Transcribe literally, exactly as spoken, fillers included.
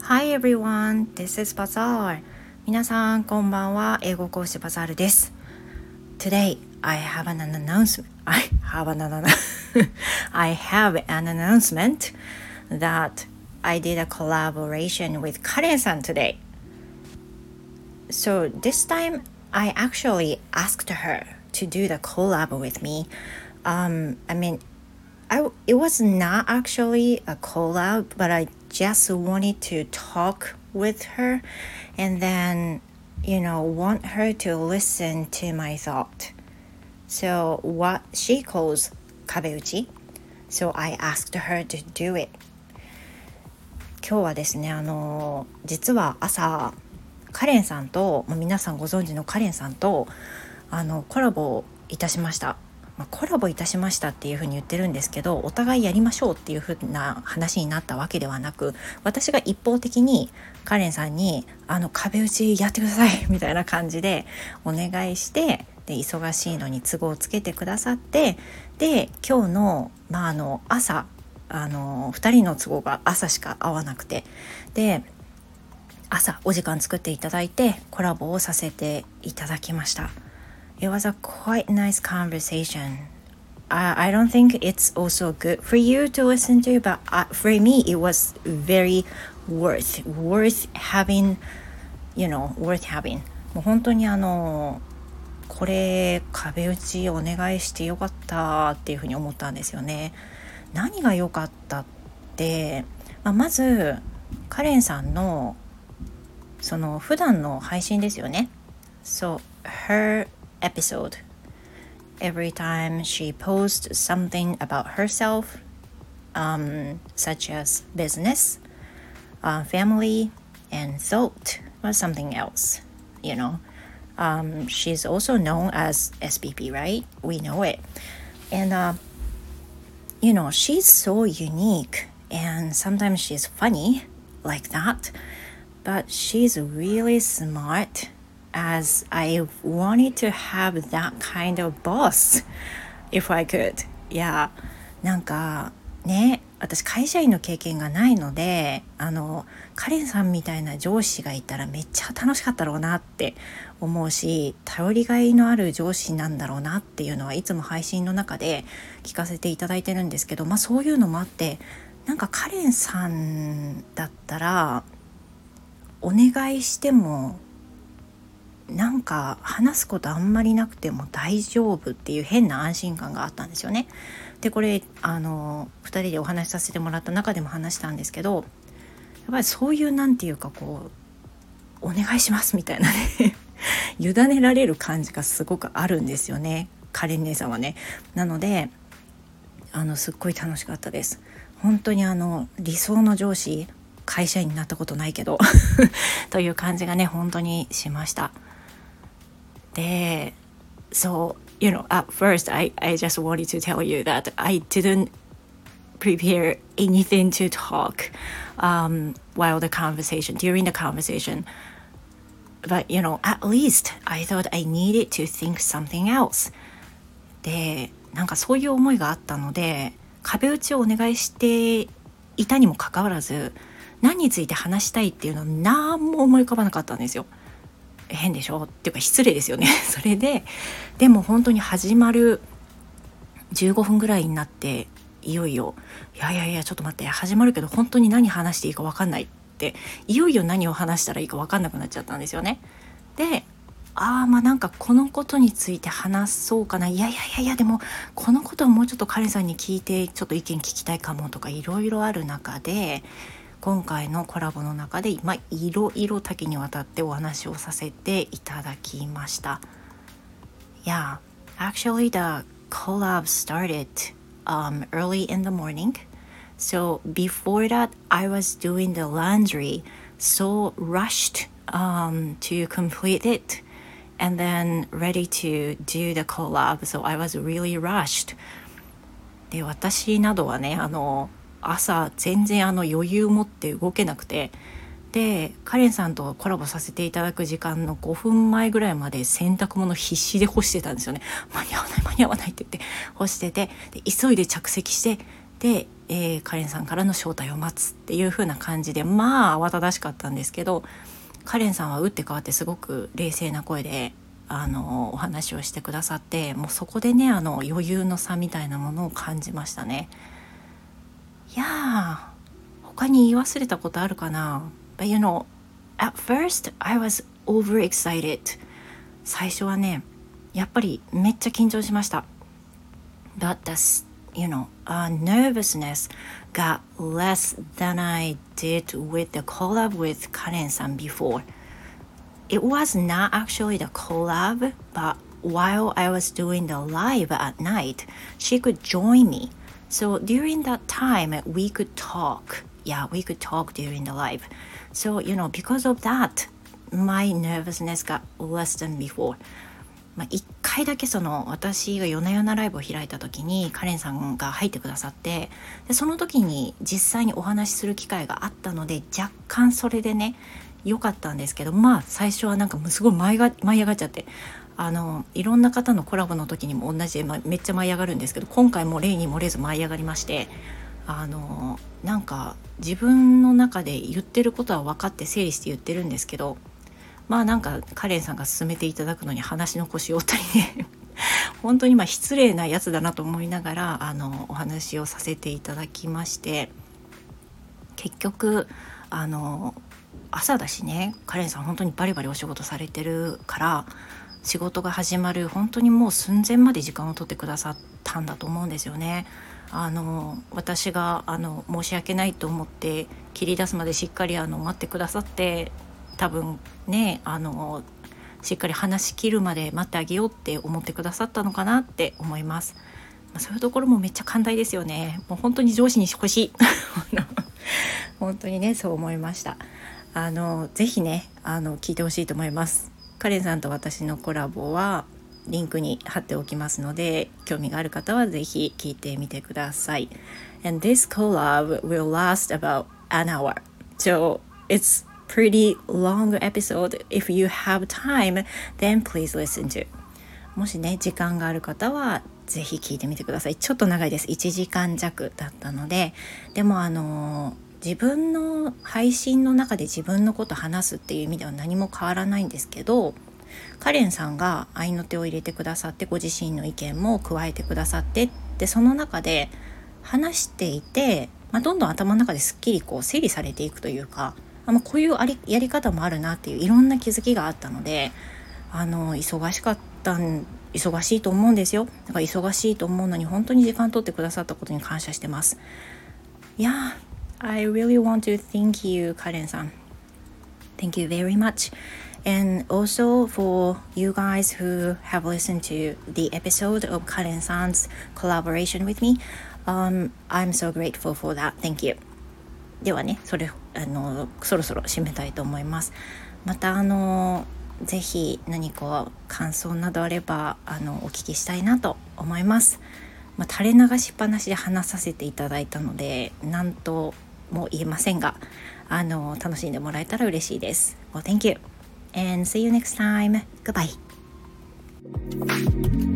Hi everyone, this is Bazaar. 皆さんこんばんは。英語講師バザールです。Today I have an announcement. I have an I have an announcement that I did a collaboration with Karen-san today. So this time I actually asked her to do the collab with me. Um, I mean, I, it was not actually a collab, but I just wanted to talk with her and then, you know, want her to listen to my thought. So what she calls 壁打ち So I asked her to do it. 今日はですね、あの実は朝カレンさんと、まあ、皆さんご存知のカレンさんとあのコラボをいたしました。まあ、コラボいたしましたっていうふうに言ってるんですけど、お互いやりましょうっていうふうな話になったわけではなく、私が一方的にカレンさんにあの壁打ちやってくださいみたいな感じでお願いして、で忙しいのに都合をつけてくださって、で今日の、まあ、あの朝あのふたりの都合が朝しか合わなくて、で朝お時間作っていただいてコラボをさせていただきました。It was a quite nice conversation. I, I don't think it's also good for you to listen to, but uh, for me it was very worth, worth having, you know, worth having. もう本当にあのこれ壁打ちお願いしてよかったっていうふうに思ったんですよね。何が良かったって、まあ、まずカレンさんのその普段の配信ですよね。So her episode, every time she posts something about herself, um, such as business, uh, family, and thought, or something else, you know. Um, she's also known as S P P, right? We know it. And, uh, you know, she's so unique, and sometimes she's funny like that, but she's really smart, as I wanted to have that kind of boss if I could. Yeah. なんかね、私会社員の経験がないので、あのカレンさんみたいな上司がいたらめっちゃ楽しかったろうなって思うし、頼りがいのある上司なんだろうなっていうのはいつも配信の中で聞かせていただいてるんですけど、まあそういうのもあって、なんかカレンさんだったらお願いしてもなんか話すことあんまりなくても大丈夫っていう変な安心感があったんですよね。でこれあのふたりでお話しさせてもらった中でも話したんですけど、やっぱりそういうなんていうかこうお願いしますみたいなね委ねられる感じがすごくあるんですよね、カレン姉さんはね。なのであのすっごい楽しかったです。本当にあの理想の上司、会社員になったことないけどという感じがね本当にしました。で、so you know, at first I, I just wanted to tell you that I didn't prepare anything to talk um, while the conversation, during the conversation. But you know, at least I thought I needed to think something else. で、なんかそういう思いがあったので、壁打ちをお願いしていたにもかかわらず、何について話したいっていうのは何も思い浮かばなかったんですよ。変でしょっていうか失礼ですよねそれででも本当に始まるじゅうごふんぐらいになって、いよいよいやいやいやちょっと待って、始まるけど本当に何話していいか分かんないって、いよいよ何を話したらいいか分かんなくなっちゃったんですよね。で、ああまあなんかこのことについて話そうかな、いやいやいやいやでもこのことをもうちょっとカレンさんに聞いてちょっと意見聞きたいかもとかいろいろある中で、今回のコラボの中で、まあ、いろいろ多岐にわたってお話をさせていただきました。Yeah, actually the collab started um, early in the morning. So before that, I was doing the laundry, so rushed um, to complete it, and then ready to do the collab. So I was really rushed. で、私などはね、あの朝全然あの余裕持って動けなくて、でカレンさんとコラボさせていただく時間のごふんまえぐらいまで洗濯物必死で干してたんですよね。間に合わない間に合わないって言って干してて、で急いで着席して、でえー、カレンさんからの招待を待つっていう風な感じで、まあ慌ただしかったんですけど、カレンさんは打って変わってすごく冷静な声であのお話をしてくださって、もうそこでねあの余裕の差みたいなものを感じましたね。いやー、他に言い忘れたことあるかな。 But you know, at first I was overexcited. 最初はねやっぱりめっちゃ緊張しました。 But the you know, uh, nervousness got less than I did with the collab with Karen-san before. It was not actually the collab, but while I was doing the live at night, she could join me. So during that time, we could talk. Yeah, we could talk during the live. So, you know, because of that, my nervousness got less than before.まあ、いっかいだけその私が夜な夜なライブを開いた時にカレンさんが入ってくださって、でその時に実際にお話しする機会があったので、若干それでね良かったんですけど、まあ最初はなんかすごい舞いが舞い上がっちゃって、あのいろんな方のコラボの時にも同じで、まあ、めっちゃ舞い上がるんですけど、今回も例に漏れず舞い上がりまして、あのなんか自分の中で言ってることは分かって整理して言ってるんですけど、まあなんかカレンさんが勧めていただくのに話の腰を折ったりね本当にまあ失礼なやつだなと思いながらあのお話をさせていただきまして、結局あの朝だしね、カレンさん本当にバリバリお仕事されてるから、仕事が始まる本当にもう寸前まで時間を取ってくださったんだと思うんですよね。あの私があの申し訳ないと思って切り出すまでしっかりあの待ってくださって、多分ねあのしっかり話し切るまで待ってあげようって思ってくださったのかなって思います。まあ、そういうところもめっちゃ寛大ですよね。もう本当に上司に欲しい本当にねそう思いました。あのぜひねあの聞いてほしいと思います。カレンさんと私のコラボはリンクに貼っておきますので、興味がある方はぜひ聞いてみてください。 And this collab will last about an hour, so it's pretty long episode. If you have time, then please listen to. もしね時間がある方はぜひ聞いてみてください。ちょっと長いです。いちじかん弱だったので、でもあの自分の配信の中で自分のこと話すっていう意味では何も変わらないんですけど、カレンさんが合いの手を入れてくださって、ご自身の意見も加えてくださって、でその中で話していて、まあ、どんどん頭の中ですっきりこう整理されていくというか、あのこういうありやり方もあるなっていういろんな気づきがあったので、あの忙しかったん忙しいと思うんですよ。だから忙しいと思うのに本当に時間取ってくださったことに感謝してます。いや、I really want to thank you, カレンさん。Thank you very much. And also for you guys who have listened to the episode of Karen-san's collaboration with me, um, I'm so grateful for that. Thank you. ではね、それあのそろそろ締めたいと思います。またあのぜひ何か感想などあればあのお聞きしたいなと思います。まあ、垂れ流しっぱなしで話させていただいたので何とも言えませんが、あの楽しんでもらえたら嬉しいです。Well, thank you and see you next time. Goodbye.